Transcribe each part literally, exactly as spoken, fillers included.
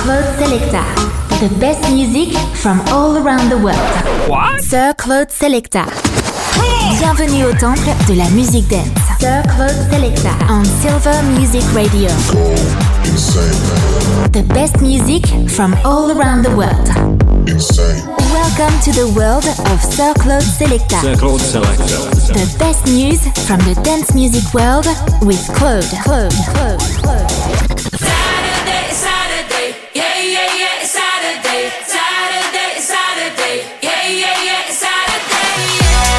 Claude Selecta. The best music from all around the world. What? Sir Claude Selecta. Bienvenue au temple de la musique dance. Sir Claude Selecta on Silver Music Radio. The best music from all around the world. Insane. Welcome to the world of Sir Claude Selecta. Sir Claude Selecta. The best news from the dance music world with Claude. Claude. Claude. Claude. Saturday, Saturday, yeah, yeah, yeah, Saturday, Saturday, Saturday, yeah, yeah, yeah, Saturday, yeah.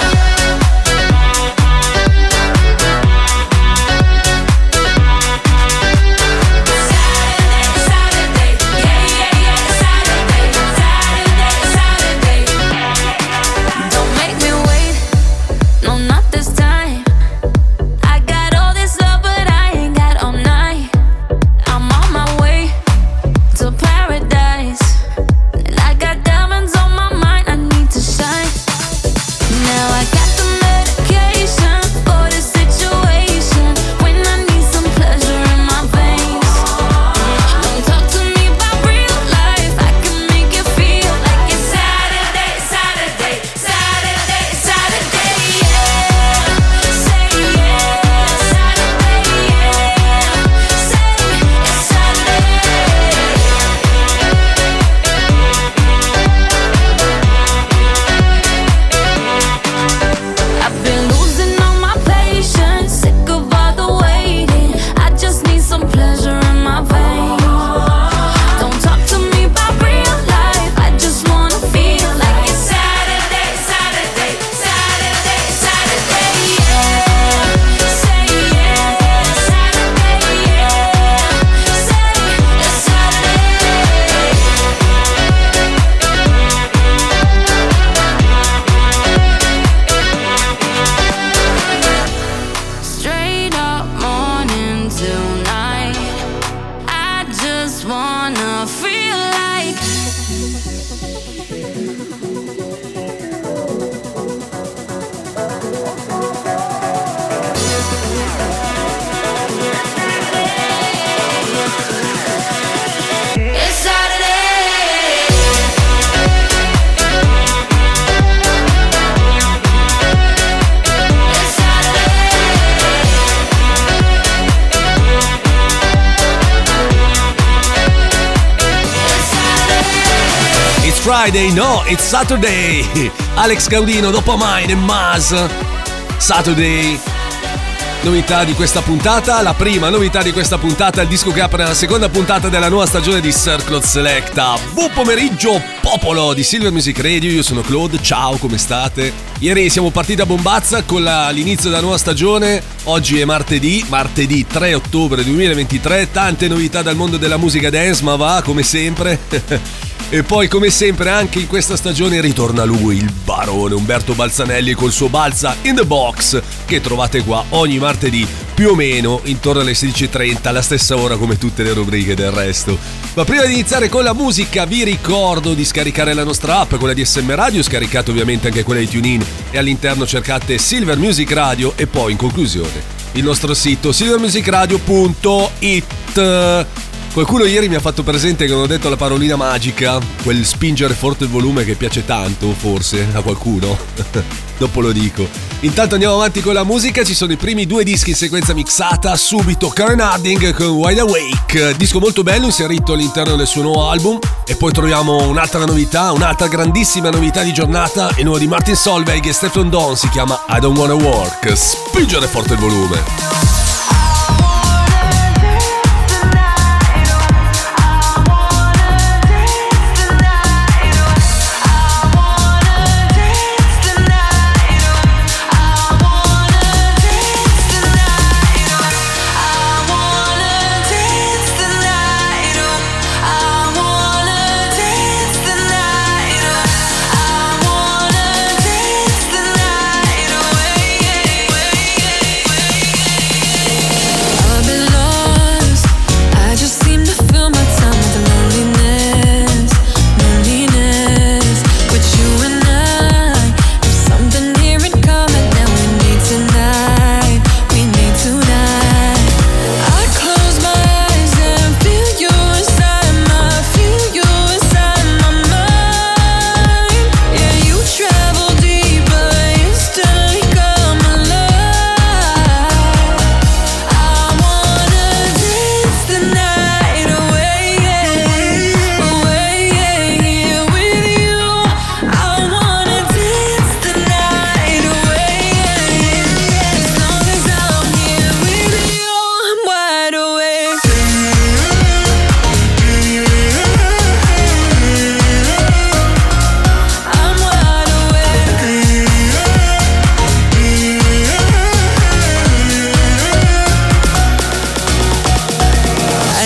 Saturday, Saturday, yeah, yeah, yeah, Saturday, Saturday, Saturday. Don't make me wait, no, not this time. I got all this love, but I ain't got all night. I'm on my way to paradise, and I got diamonds on my mind, I need to shine. Now I got the medication for this situation, when I need some pleasure in my veins. Don't talk to me about real life, I can make you feel like it's Saturday, Saturday, Saturday, Saturday, yeah. Say yeah, Saturday, yeah. Say it's Saturday. I've been losing all my patience, sick of all the waiting. I just need some pleasure in my veins. Don't talk to me about real life, I just wanna feel like it's Saturday, Saturday, Saturday, Saturday, yeah. Say yeah, Saturday, yeah. Say it's Saturday. Straight up morning till night, I just wanna feel like it's Saturday. It's It's Friday, no, it's Saturday. Alex Gaudino, dopo Mine e Maz. Saturday. Novità di questa puntata, la prima novità di questa puntata, il disco che apre la seconda puntata della nuova stagione di Sir Claude Selecta. Buon pomeriggio, popolo di Silver Music Radio, io sono Claude, ciao, come state? Ieri siamo partiti a bombazza con la, l'inizio della nuova stagione, oggi è martedì, martedì tre ottobre duemilaventitré, tante novità dal mondo della musica dance, ma va, come sempre... E poi come sempre anche in questa stagione ritorna lui, il barone Umberto Balzanelli col suo Balza in the Box, che trovate qua ogni martedì più o meno intorno alle sedici e trenta, alla stessa ora come tutte le rubriche del resto. Ma prima di iniziare con la musica vi ricordo di scaricare la nostra app, quella di S M Radio, scaricate ovviamente anche quella di TuneIn, e all'interno cercate Silver Music Radio e poi in conclusione il nostro sito silver music radio punto it. Qualcuno ieri mi ha fatto presente che non ho detto la parolina magica, quel spingere forte il volume che piace tanto, forse, a qualcuno. Dopo lo dico. Intanto andiamo avanti con la musica, ci sono i primi due dischi in sequenza mixata, subito Karen Harding con Wide Awake, disco molto bello inserito all'interno del suo nuovo album, e poi troviamo un'altra novità, un'altra grandissima novità di giornata, il nuovo di Martin Solveig e Stefan Don, si chiama I Don't Wanna Work, spingere forte il volume.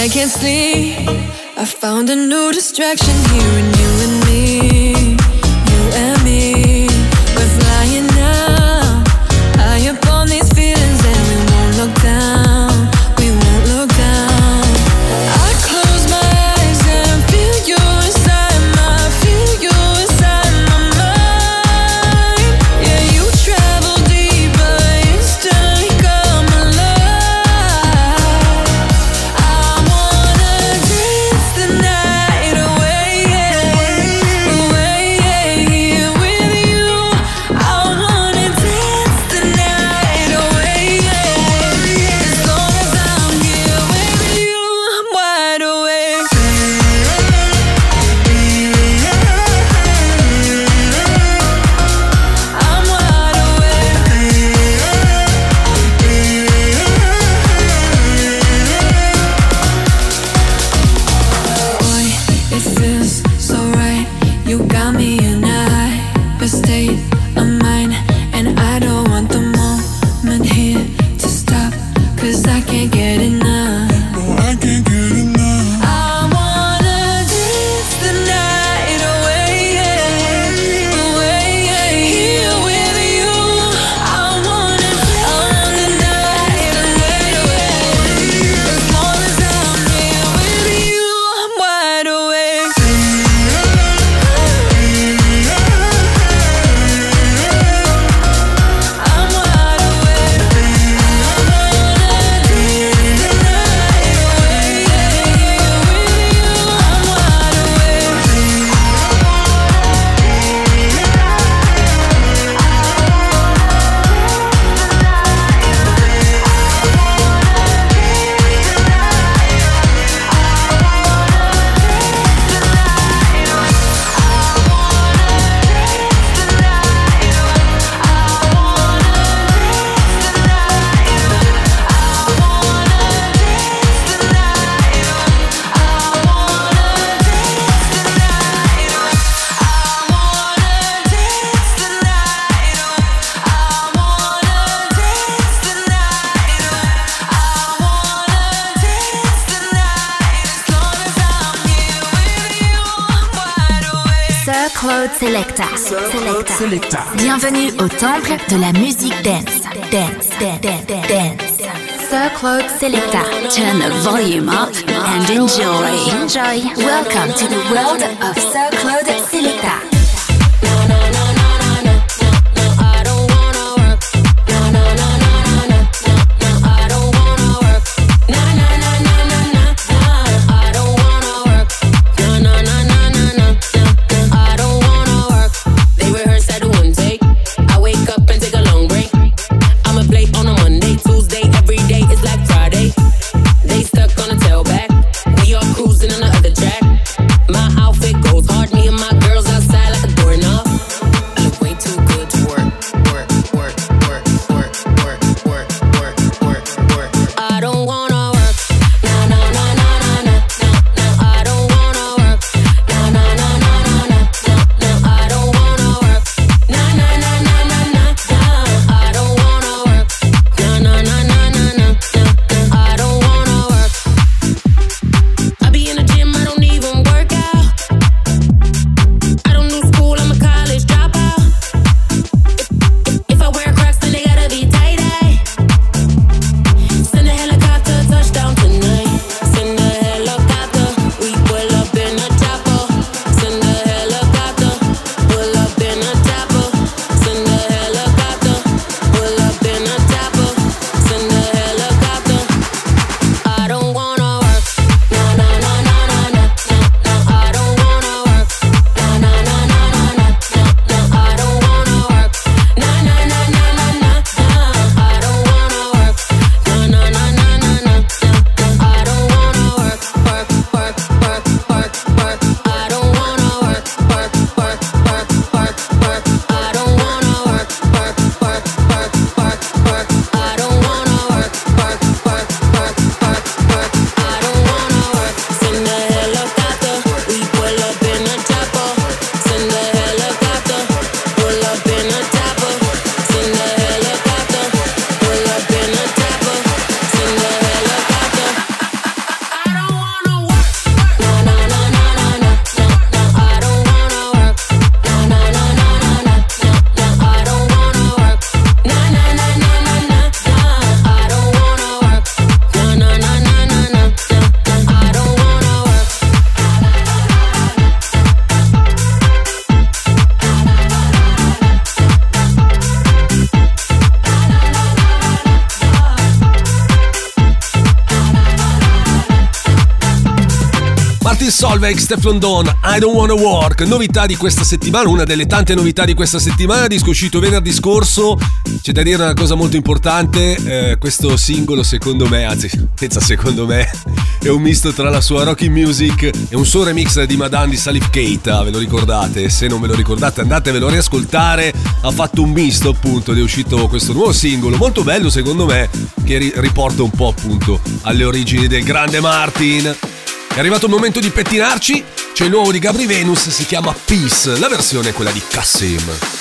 I can't sleep. I found a new distraction here in you and me. You and me. We're flying now, high up on these feelings, and we won't look down. We won't look down. I close my eyes and feel you inside my, feel you inside my mind. Yeah, you travel deeper, instantly come alive. I wanna dance the night away, away, here with you. I wanna dance the night away, as long as I'm here with you, I'm wide awake. I'm wide awake. Boy, it feels so right. You got me in a hyper state of mind, and I don't want the moment here to stop, 'cause I can't get enough. I can't get enough. I wanna dance the night away, away, here with you. I wanna dance the night away, as long as I'm here with you, I'm wide awake. I'm wide awake. I wanna dance the night away, here with you, I'm wide awake. Sir Claude Selecta. Selecta. Bienvenue au temple de la musique dance. Dance, dance, dance, dance. Sir Claude Selecta. Turn the volume up and enjoy. Enjoy. Welcome to the world of Sir Claude Selecta. Cruising on the other track. My outfit goes hard, me and my girls outside Martin Solveig, Stefflon Don, I Don't Wanna Work. Novità di questa settimana, una delle tante novità di questa settimana, disco uscito venerdì scorso. C'è da dire una cosa molto importante, eh, questo singolo secondo me, anzi senza secondo me, è un misto tra la sua Rocky Music e un suo remix di Madame di Salif Keita, ve lo ricordate? Se non ve lo ricordate andatevelo a riascoltare. Ha fatto un misto appunto ed è uscito questo nuovo singolo molto bello secondo me, che ri- riporta un po' appunto alle origini del grande Martin. È arrivato il momento di pettinarci, c'è il nuovo di Gabry Venus, si chiama Peace, la versione è quella di Kassim.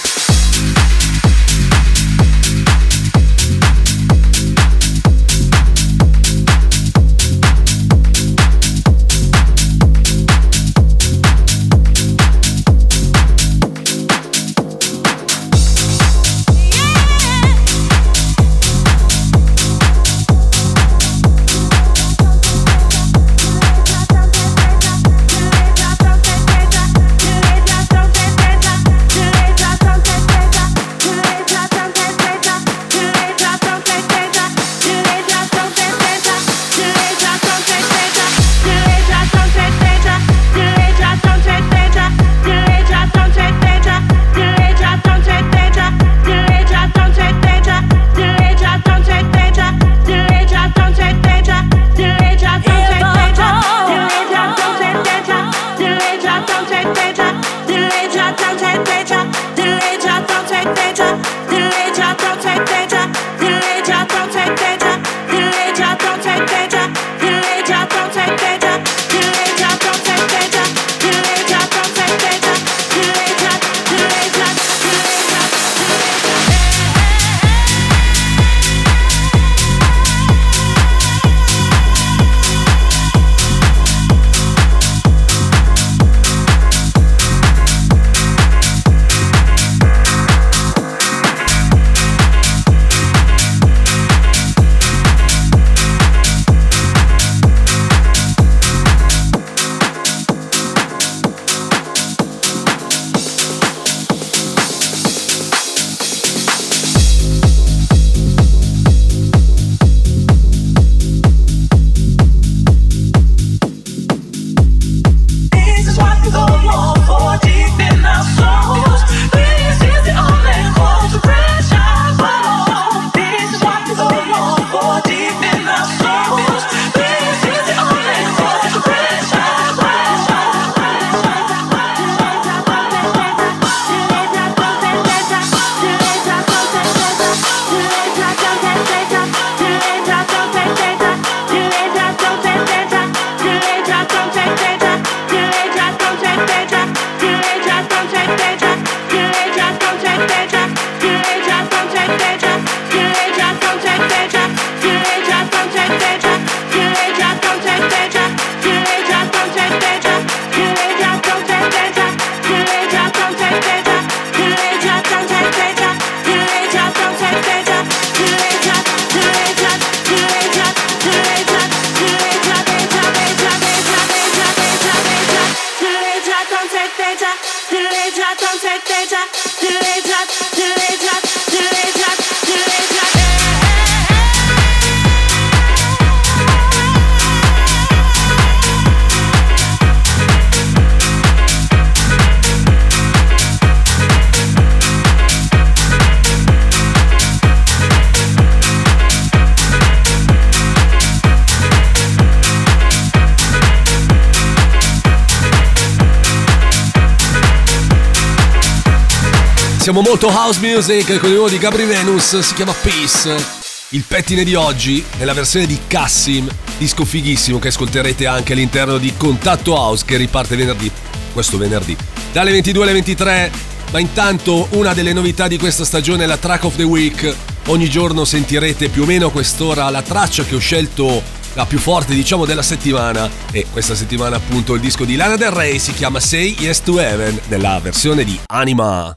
Siamo molto house music con il nuovo di Gabry Venus, si chiama Peace. Il pettine di oggi è la versione di Kassim, disco fighissimo che ascolterete anche all'interno di Contatto House, che riparte venerdì, questo venerdì, dalle ventidue alle ventitré. Ma intanto una delle novità di questa stagione è la Track of the Week. Ogni giorno sentirete più o meno a quest'ora la traccia che ho scelto, la più forte diciamo della settimana, e questa settimana appunto il disco di Lana Del Rey si chiama Say Yes to Heaven nella versione di Anima.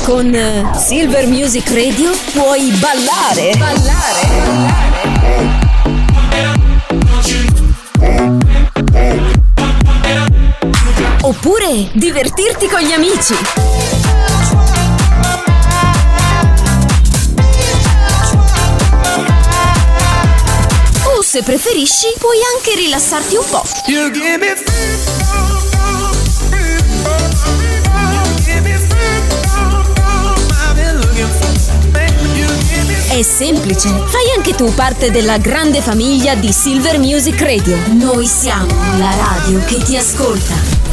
Con Silver Music Radio puoi ballare. Ballare. Oppure divertirti con gli amici. O se preferisci puoi anche rilassarti un po'. È semplice, fai anche tu parte della grande famiglia di Silver Music Radio. Noi siamo la radio che ti ascolta.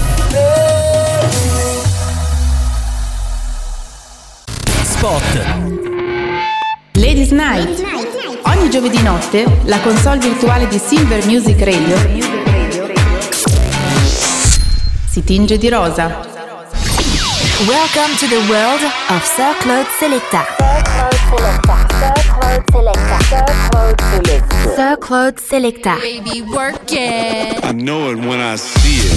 Spot. Ladies Night. Ogni giovedì notte la console virtuale di Silver Music Radio si tinge di rosa. Welcome to the world of Sir Claude Selecta. Sir Claude Selecta. Baby, work it. I know it when I see it.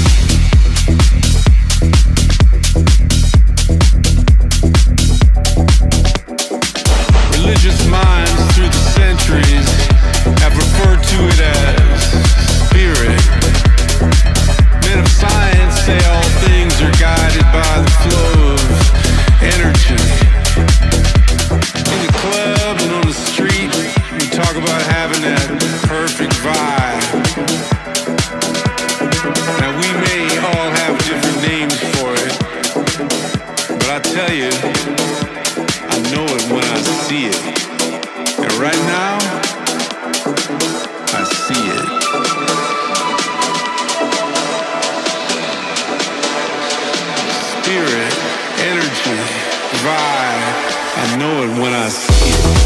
Religious minds through the centuries have referred to it as spirit. Men of science say all things are guided by the flow of energy. In the club and on the street, we talk about having that perfect vibe. Now we may all have different names for it, but I tell you, I know it when I see it. And right now, I see it. Spirit, energy, vibe, I know it when I see it.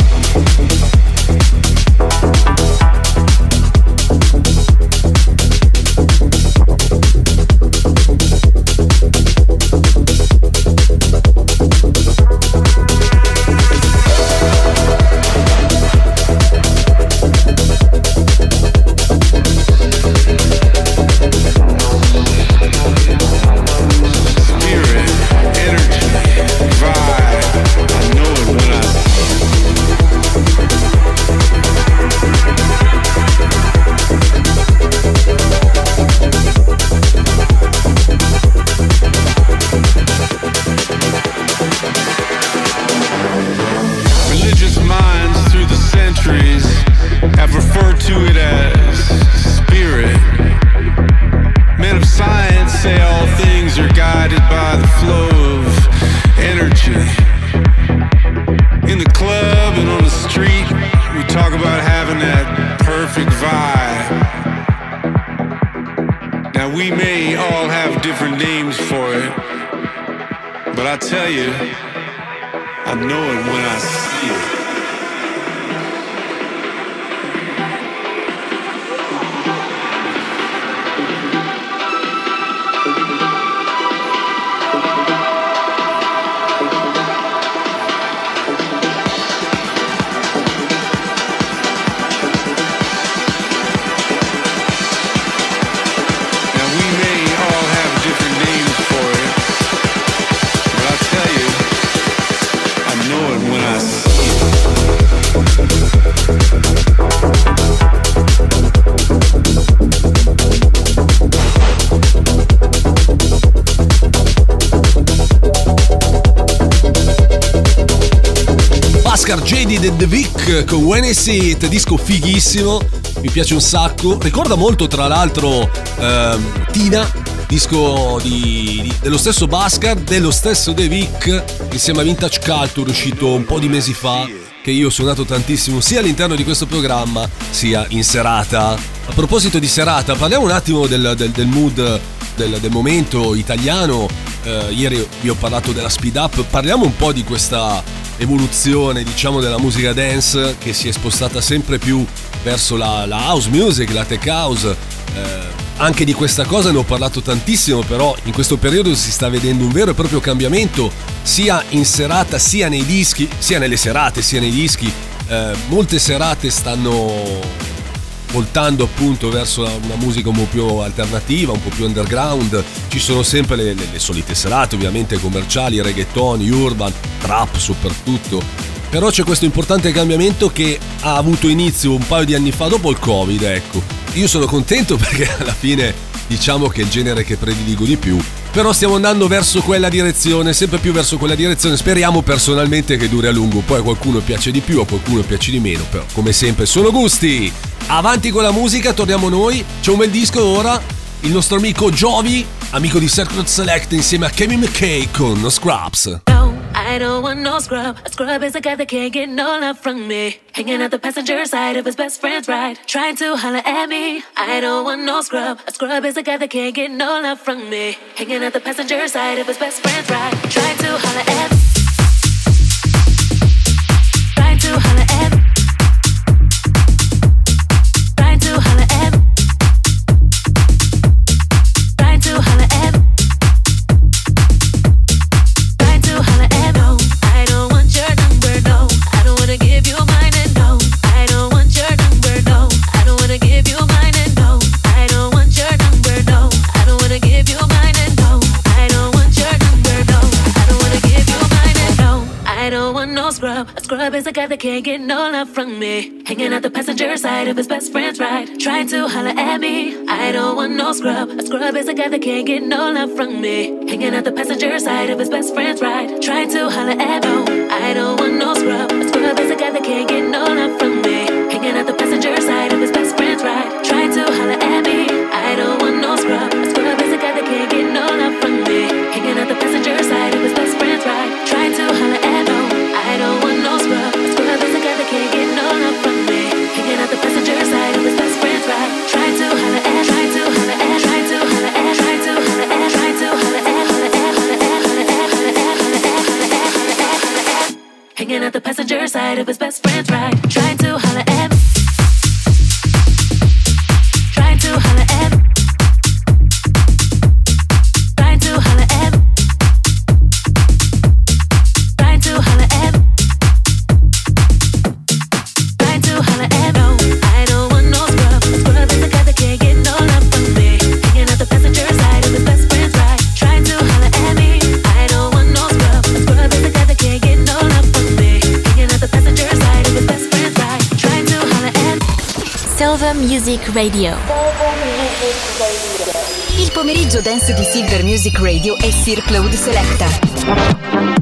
J D The, The Vic con When I See It, disco fighissimo, mi piace un sacco, ricorda molto tra l'altro ehm, Tina, disco di, di, dello stesso Bhaskar, dello stesso The Vic, insieme a Vintage Culture, uscito un po' di mesi fa, che io ho suonato tantissimo sia all'interno di questo programma sia in serata. A proposito di serata, parliamo un attimo del, del, del mood, del, del momento italiano. eh, ieri vi ho parlato della Speed Up, parliamo un po' di questa evoluzione, diciamo, della musica dance che si è spostata sempre più verso la, la house music, la tech house. Eh, anche di questa cosa ne ho parlato tantissimo, però in questo periodo si sta vedendo un vero e proprio cambiamento sia in serata sia nei dischi, sia nelle serate sia nei dischi. Eh, molte serate stanno voltando appunto verso una musica un po' più alternativa, un po' più underground. Ci sono sempre le, le, le solite serate, ovviamente commerciali, reggaeton, urban, trap soprattutto. Però c'è questo importante cambiamento che ha avuto inizio un paio di anni fa, dopo il Covid, ecco. Io sono contento perché alla fine diciamo che è il genere che prediligo di più. Però stiamo andando verso quella direzione, sempre più verso quella direzione. Speriamo personalmente che duri a lungo. Poi a qualcuno piace di più, a qualcuno piace di meno. Però come sempre sono gusti. Avanti con la musica, torniamo noi. C'è un bel disco ora. Il nostro amico Jovi, amico di Circle Select, insieme a Kevin McKay con Scrubs. I don't want no scrub. A scrub is a guy that can't get no love from me. Hanging out the passenger side of his best friend's ride, trying to holler at me. I don't want no scrub. A scrub is a guy that can't get no love from me. Hanging out the passenger side of his best friend's ride, trying to holler at me. Trying to holler at me. Trying to holler at me. Trying to holler at me. A scrub is a guy that can't get no love from me. Hanging out the passenger side of his best friend's ride, trying to holler at me. I don't want no scrub. A scrub is a guy that can't get no love from me. Hanging out the passenger side of his best friend's ride, trying to holler at me. I don't want no scrub. A scrub is a guy that can't get no love from me. Hanging out the passenger side of his best friend's ride, trying to holler at me. I don't want no scrub. A scrub is a guy that can't get no love from me. Hanging out the passenger side of his best friend's ride, trying to holler at me. I don't want no scrub. A scrub is a guy that can't get no love from me. Hanging out the passenger side of his best friend's ride, trying to holler at, trying to holler at, trying to holler at, trying to holler at, trying to holler at, holler at, holler at, holler at, holler at, holler at, holler at, holler at, holler at. Hanging out the passenger side of his best friend's ride, trying to holler at, trying to holler at, trying to holler at, trying to holler at. Silver Music Radio. Il pomeriggio dance di Silver Music Radio e Sir Claude Selecta.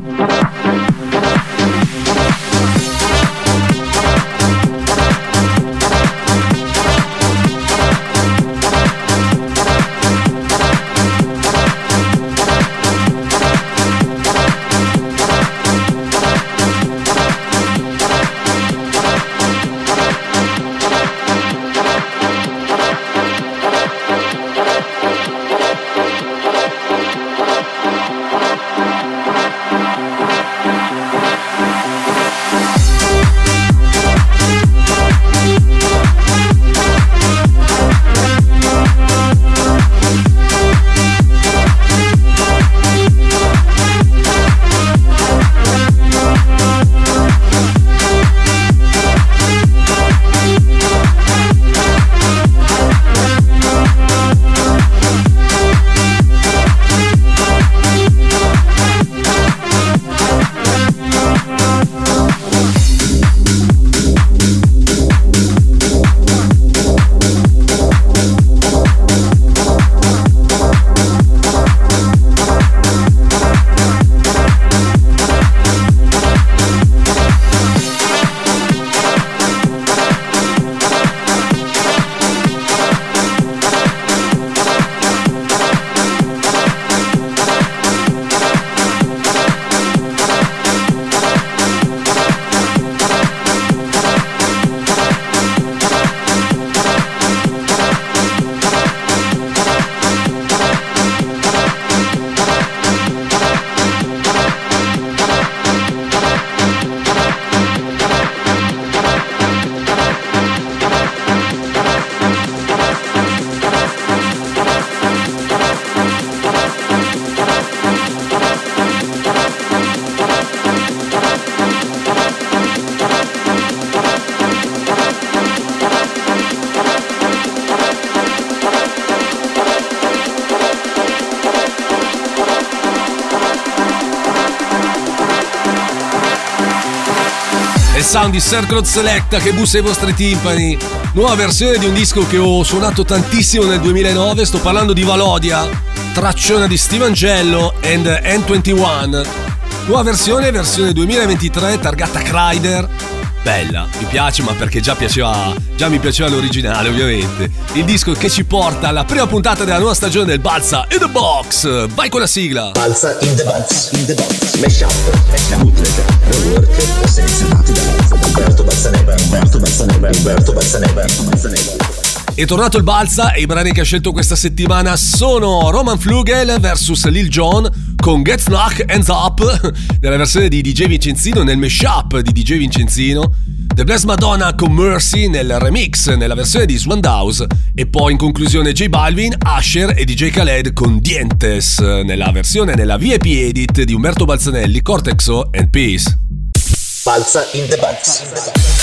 il sound di Circle Selecta che bussa i vostri timpani. Nuova versione di un disco che ho suonato tantissimo nel duemilanove, sto parlando di Valodia, tracciona di Steve Angello and N ventuno. Nuova versione, versione duemilaventitré, targata Kryder. Bella, mi piace, ma perché già piaceva, già mi piaceva l'originale, ovviamente. Il disco che ci porta alla prima puntata della nuova stagione del Balsa in the Box. Vai con la sigla. Balsa in the Box, in the Box. Mashup, bootleg, rework, selezionati da Umberto Balsaneva, Umberto Balsaneva, Umberto Balsaneva, Umberto Balsaneva. È tornato il Balsa e i brani che ha scelto questa settimana sono Roman Flugel versus Lil Jon con Get Knock Hands Up nella versione di D J Vincenzino, nel mashup di D J Vincenzino, The Blessed Madonna con Mercy nel remix nella versione di Swandaus, e poi in conclusione J Balvin, Usher e D J Khaled con Dientes nella versione nella V I P edit di Umberto Balzanelli, Cortexo and Peace. Balsa in the Box. In the box.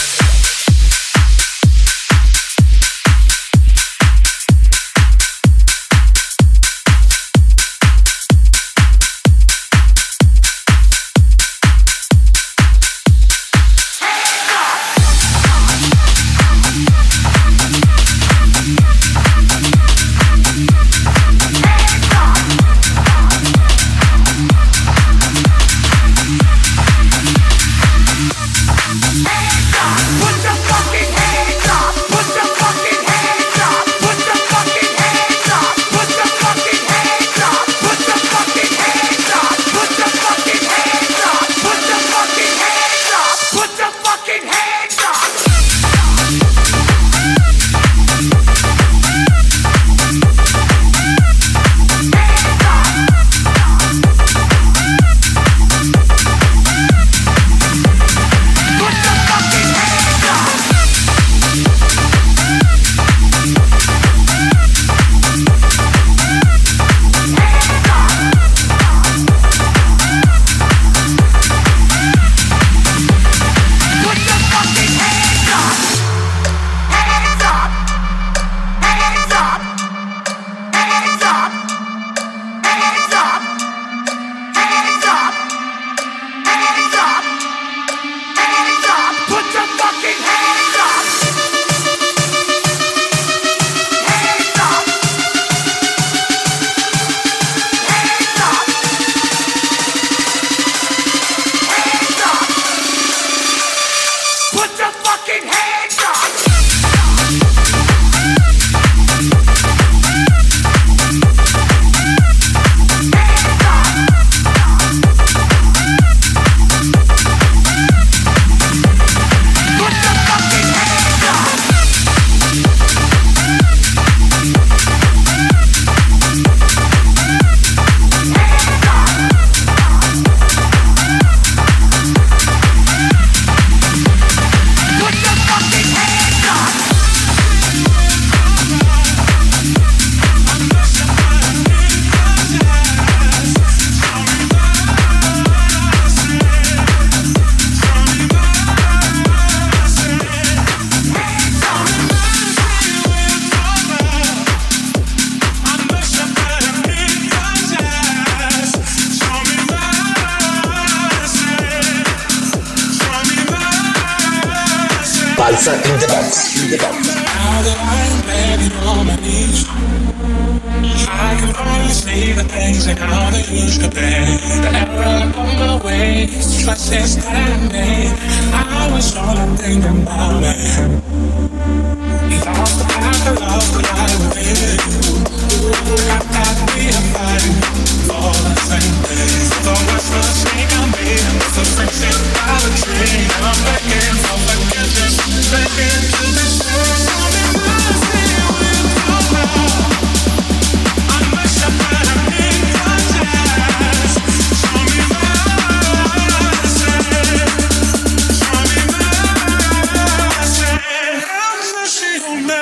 Balsa in the Box. In the box. Now that I'm begging on my knees, I can finally see the things and how they used to be. The error on my way, the choices that I made, I was only thinking about it. Lost the path of love that I was in. Got that we are fighting for the same things. The worst mistake I made was the friendship by the tree. I'm begging for forgiveness, begging to be saved. Tell me why stay with your love. I must have had a million times. Show me mercy. Show me mercy. Have mercy on me.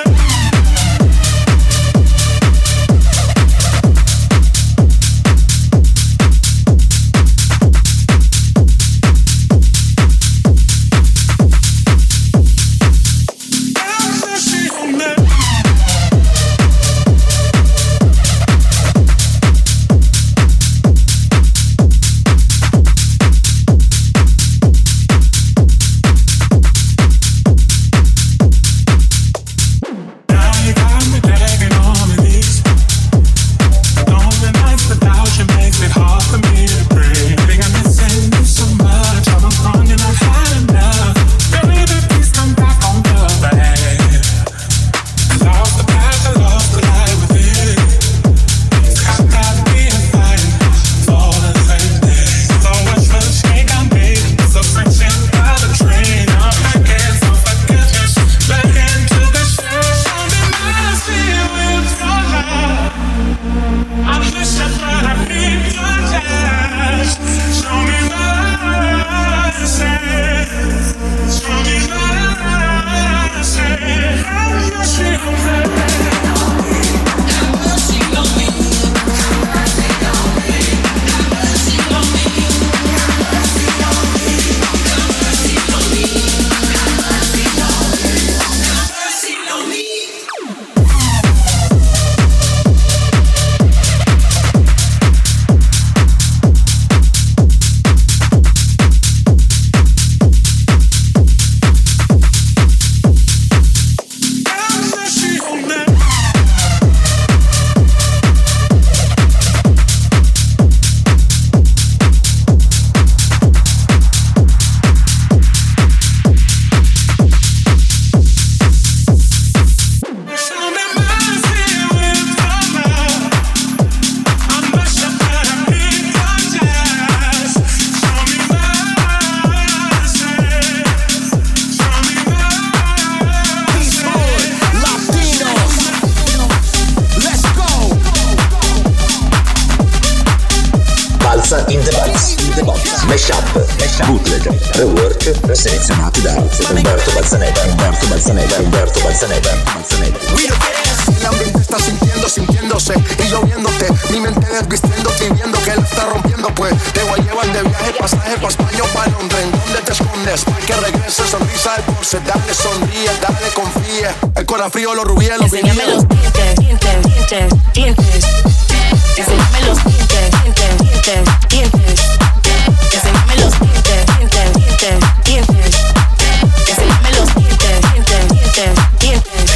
bootleg, rework, selezionati da Umberto Balzaneva, Umberto Balzaneva, Umberto Balzaneva, Balzaneva. El ambiente está sintiendo, sintiéndose y lloviéndote. Mi mente desvistiéndote y viendo que la está rompiendo. Pues te voy a llevar de viaje, pasaje pa' España o pa' Londres. ¿En dónde te escondes? Pa' que regrese, sonrisa de porce. Dale, sonríe, dale, confíe. El corazón frío, los rubíes, los enséñame los dientes, dientes, dientes, dientes. Enséñame los dientes, dientes, dientes, dientes. Enséñame los dientes, dientes, dientes, dientes. Enséñame los dientes, dientes, dientes, dientes.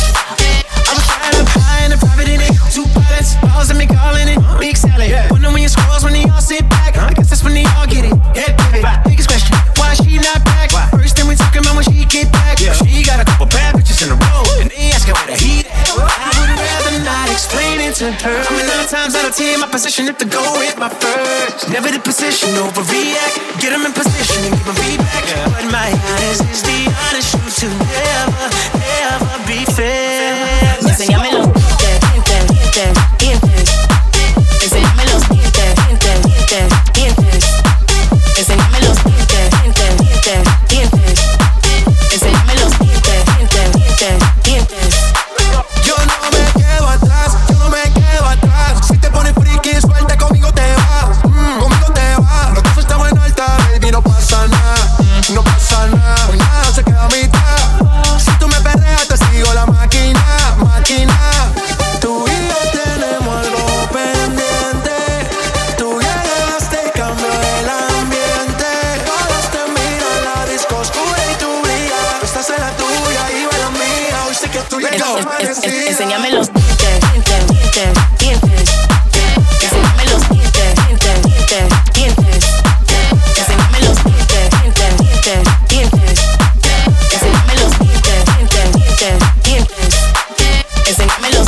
High and private in it, two pilots, balls and me calling it big salad. Wonder when you scrolls when they all sit back. I guess that's when they all get it. Head pivot. Biggest question, why she not back? First thing we talking about when she get back. She got a couple bad bitches in a row, and they asking where the heat at. I would rather not explain it to her. I mean, nine times out of ten, my position is to go with my first. Never the position, overreact. Get them in position and give them feedback. But my honest is the honest truth to never, never be fair. Enséñame los dientes, dientes, dientes, dientes. Enséñame los dientes, dientes, dientes, dientes. Enséñame los dientes, dientes, dientes, dientes. Enséñame los dientes, dientes, dientes, dientes. Yo no me quedo atrás, yo no me quedo atrás. Si te pones friki, suelta, conmigo te vas, mm, conmigo te vas. Los dos estamos en alta, baby, no pasa nada, no pasa nada. Pues nada, se queda a mitad. Si tú me perreas, te sigo la máquina, máquina. Tú y yo tenemos algo pendiente. Tú llegaste y cambió el ambiente. Todos te miran, la disco oscura y tú brillas. Tú estás en la tuya y yo en la mía. Hoy sé que tú llegas amanecida. Enséñame los dientes, dientes, dientes, dientes. Enséñame los dientes, dientes, dientes, dientes. Enséñame los dientes, dientes, dientes, dientes. Enséñame los dientes, dientes, dientes, dientes. Enséñame los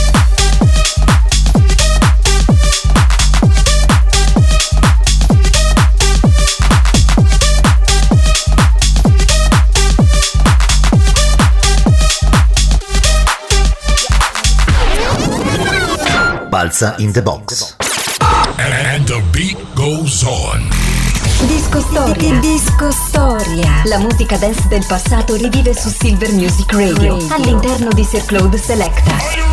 Balza in the box. And the beat goes on. Disco Storia. Disco Storia. La musica dance del passato rivive su Silver Music Radio, Radio. all'interno di Sir Claude Selecta.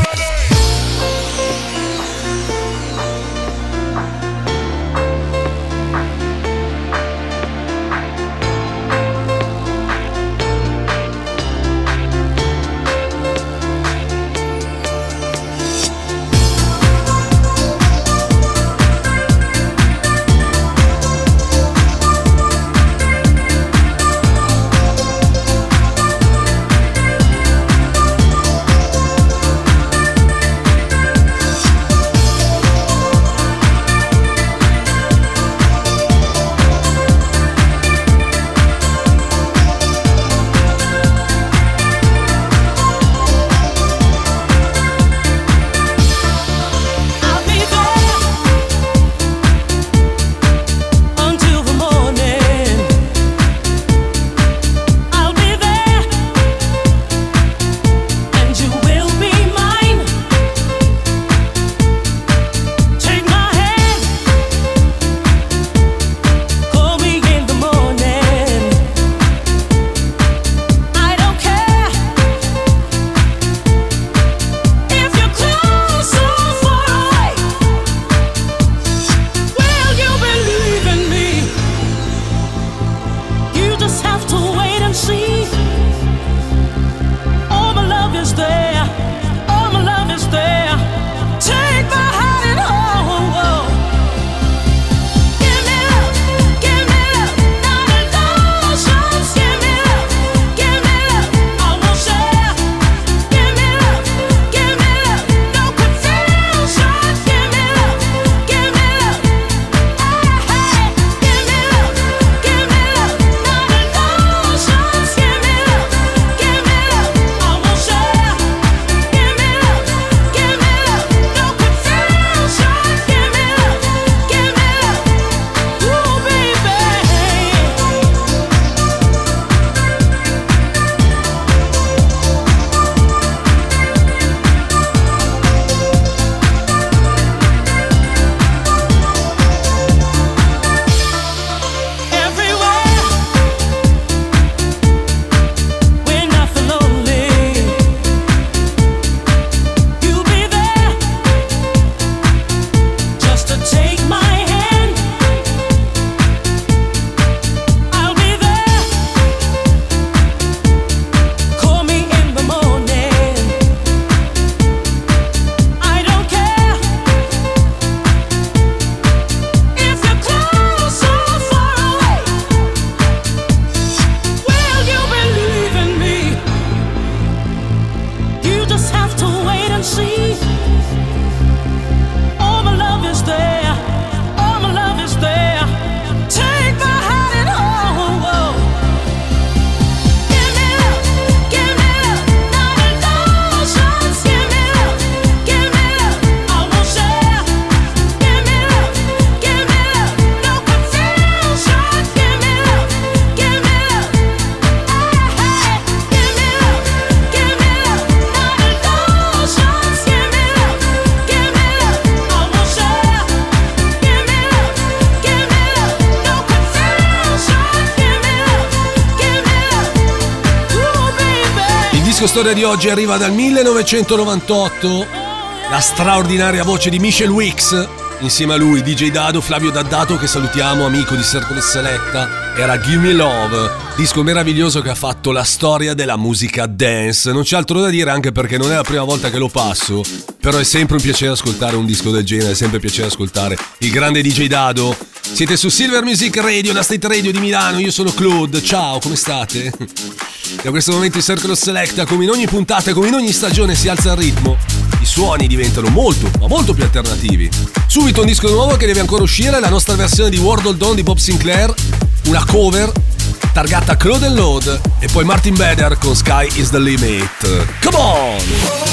disco storia di oggi arriva dal millenovecentonovantotto. La straordinaria voce di Michelle Wicks. Insieme a lui D J Dado, Flavio Daddato, che salutiamo, amico di Circle Selecta. Era Give Me Love, disco meraviglioso che ha fatto la storia della musica dance. Non c'è altro da dire, anche perché non è la prima volta che lo passo, però è sempre un piacere ascoltare un disco del genere, è sempre un piacere ascoltare il grande D J Dado. Siete su Silver Music Radio, la State Radio di Milano, io sono Claude, ciao, come state? E a questo momento in Circle Selecta, come in ogni puntata, come in ogni stagione, si alza il ritmo. I suoni diventano molto, ma molto più alternativi. Subito un disco nuovo che deve ancora uscire, la nostra versione di World Hold On di Bob Sinclair, una cover targata Claude and Load, e poi Martin Bader con Sky is the Limit. Come on!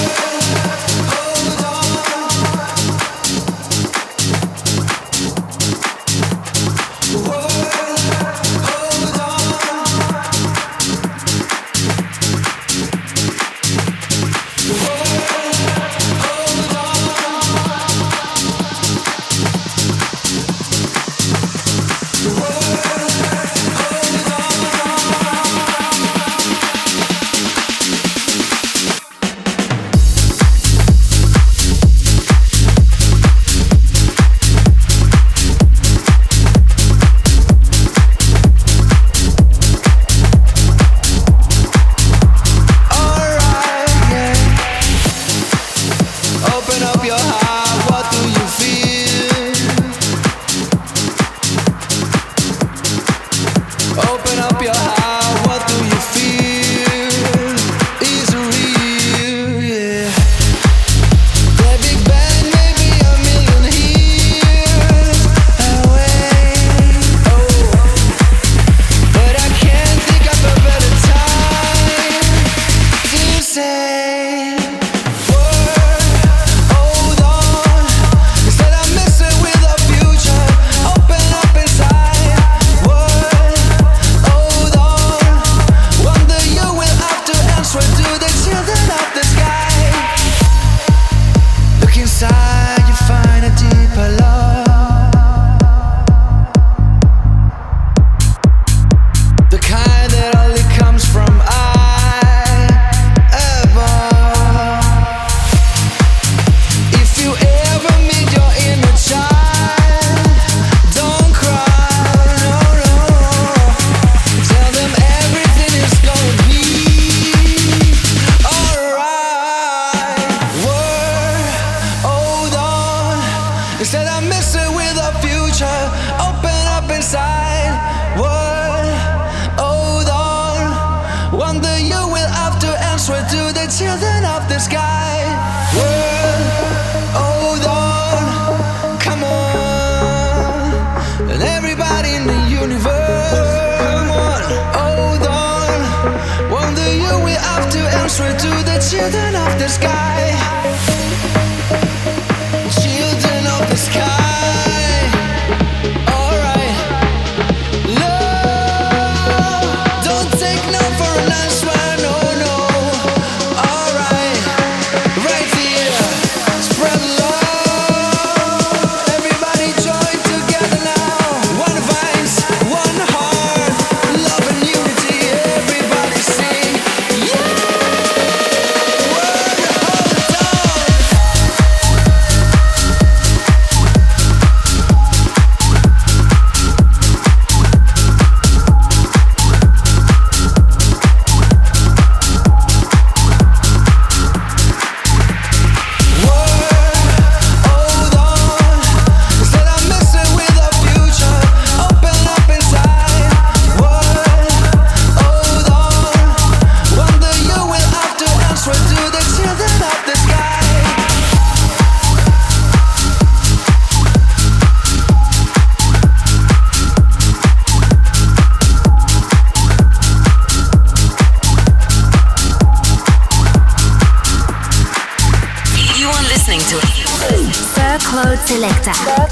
Selecta.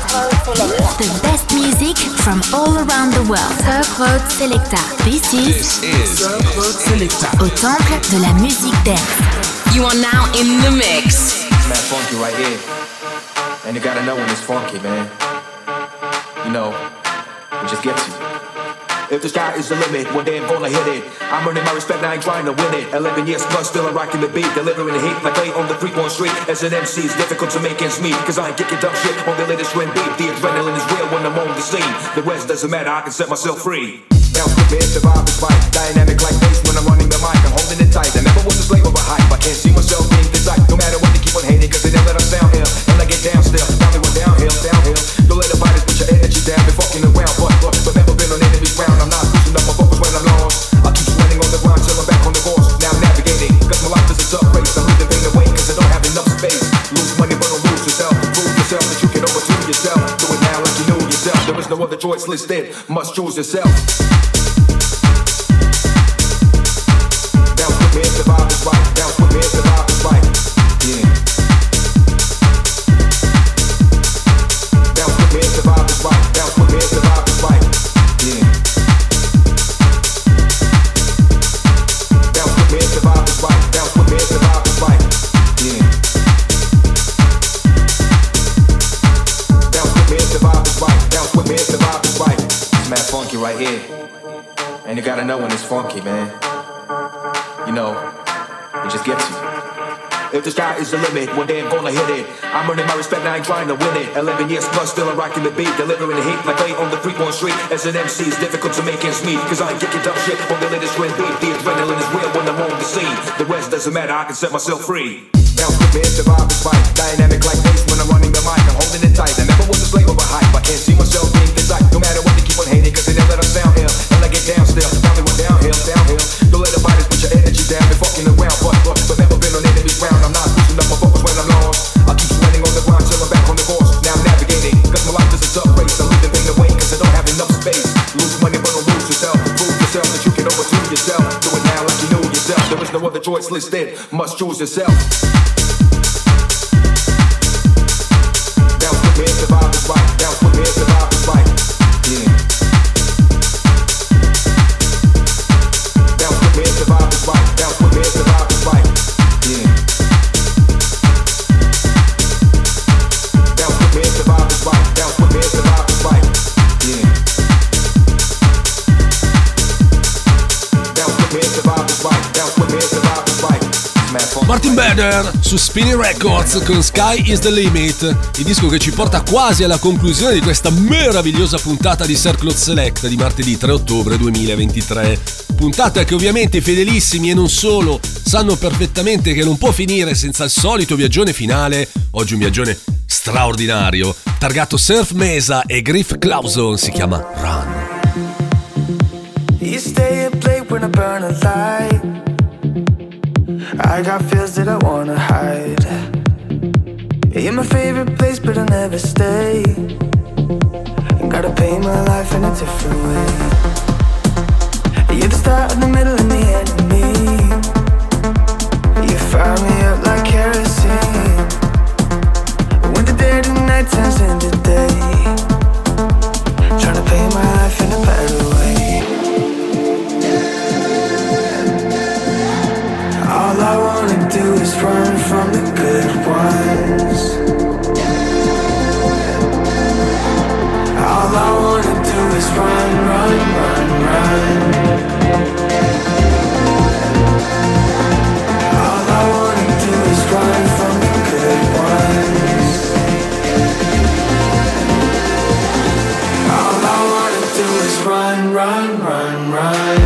The best music from all around the world. Sir Claude Selecta. This is, This is Sir Claude Selecta. Au temple de la musique dance. You are now in the mix. It's mad funky right here. And you gotta know when it's funky, man. You know, it just gets you. If the sky is the limit, one day I'm gonna hit it. I'm earning my respect, I ain't trying to win it. Eleven years plus, still I'm rocking the beat, delivering the heat like they on the three-point street. As an M C, it's difficult to make ends meet, cause I ain't kicking dumb shit on the latest trend beat. The adrenaline is real when I'm on the scene. The rest doesn't matter, I can set myself free. Bounce with me, the vibe is right. Dynamic like bass when I'm running the mic, I'm holding it tight. I never was a slave of a hype, I can't see myself being this type. No matter what they keep on hating, cause they never let us sound here. And I get down still, now we went downhill, downhill. Don't let the fighters put your energy down, been fucking around, but, but, but never been on enemy's ground. I'm not pushing up my focus when I'm lost. I keep sweating on the ground till I'm back on the course. Now I'm navigating, cause my life is a tough race. I'm leaving pain away, cause I don't have enough space. Lose money, but don't lose yourself. Prove yourself that you can overdo yourself. Do it now like you know yourself. There is no other choice listed, must choose yourself. Bounce with me, the vibe is right. Bounce with me, the vibe is right. Yeah. Bounce with me, the vibe is right. Bounce with me, the vibe is right. Yeah. Bounce with me, the vibe is right. Bounce with me, the vibe is right. Yeah. Bounce with me, the vibe is right. Bounce with me, the vibe is right. It's mad funky right here, and you gotta know when it's funky, man. You know, it just gets you. If the sky is the limit, one day I'm gonna hit it. I'm earning my respect, I ain't trying to win it. Eleven years plus, still I'm rocking the beat, delivering the heat like they on the three-point street. As an M C, it's difficult to make ends meet, cause I ain't kicking dumb shit on the latest trend beat. The adrenaline is real when I'm on the scene. The rest doesn't matter, I can set myself free. Bounce with me, the vibe is right. Dynamic like bass when I'm running the mic, I'm holding it tight. I never was a slave of a hype, I can't see myself being this type. No matter what they keep on hating, cause they never let us sound here. And I get down still, now we went downhill, downhill. Don't let the fighters put your energy down, been fucking around, but, but, but never been on enemy's ground. I'm not pushing up my focus when I'm lost. I keep sweating on the ground till I'm back on the course. Now I'm navigating, cause my life is a tough race. I'm leaving pain away, cause I don't have enough space. Lose money, but don't lose yourself. Prove yourself that you can overdo yourself. Do it now like you know yourself. There is no other choice listed, must choose yourself. Bounce with me, the vibe is right. Bounce with me, the vibe is right. Yeah. Bounce with me, the vibe is right. Bounce with me, the vibe is right. Yeah. Bounce with me, the vibe is right. Bounce with me, the vibe is right. Yeah. Bounce with me, the vibe is right. Bounce with me, the vibe is right. Martin Bader su Spinning Records con Sky is the Limit, il disco che ci porta quasi alla conclusione di questa meravigliosa puntata di Circle Select di martedì tre ottobre duemilaventitré. Puntata che ovviamente i fedelissimi e non solo sanno perfettamente che non può finire senza il solito viaggione finale. Oggi un viaggione straordinario, targato Surf Mesa e Griff Clauson, si chiama Run. You stay up late when I burn a light. I got feels that I wanna hide. You're my favorite place, but I'll never stay. Gotta paint my life in a different way. You're the start of the middle and the end of me. You fire me up like kerosene. When the dead and night turns into day. Tryna paint my life in a better way. All I wanna do is run from the good ones. All I wanna do is run, run, run, run. All I wanna do is run from the good ones. All I wanna do is run, run, run, run.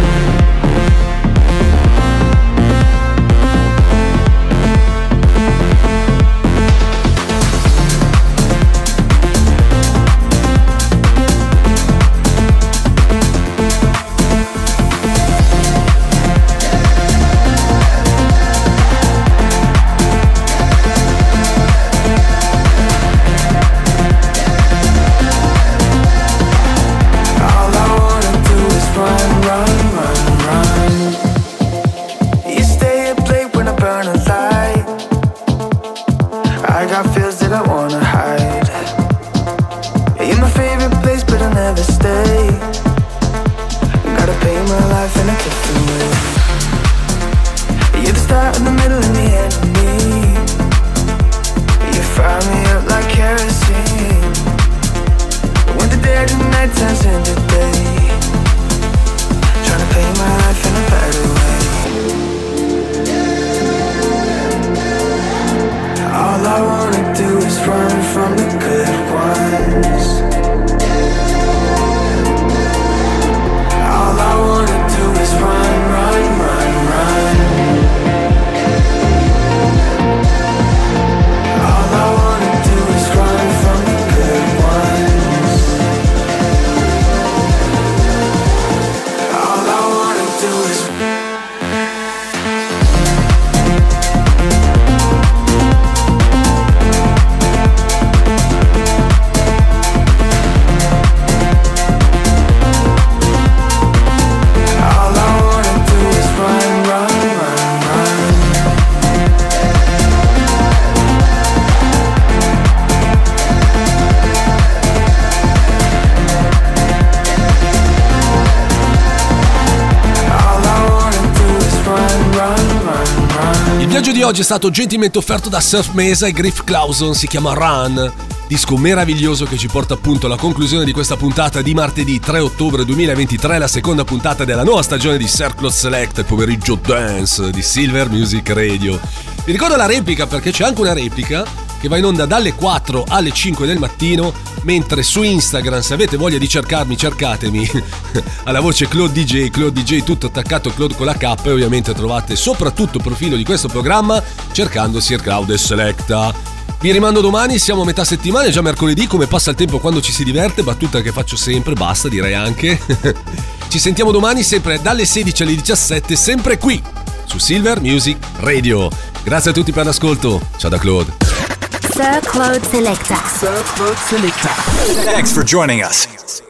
oggi è stato gentilmente offerto da Surf Mesa e Griff Clauson, si chiama Run, disco meraviglioso che ci porta appunto alla conclusione di questa puntata di martedì tre ottobre duemilaventitré, la seconda puntata della nuova stagione di Circle Select, il pomeriggio dance di Silver Music Radio. Vi ricordo la replica perché c'è anche una replica che va in onda dalle quattro alle cinque del mattino, mentre su Instagram, se avete voglia di cercarmi, cercatemi alla voce Claude D J, Claude D J tutto attaccato, Claude con la K, e ovviamente trovate soprattutto il profilo di questo programma cercando Sir Cloud e Selecta. Vi rimando domani, siamo a metà settimana, è già mercoledì, come passa il tempo quando ci si diverte, battuta che faccio sempre, basta direi anche. Ci sentiamo domani sempre dalle sedici alle diciassette, sempre qui su Silver Music Radio. Grazie a tutti per l'ascolto, ciao da Claude. Sir Claude Selecta. Sir Claude Selecta. Thanks for joining us.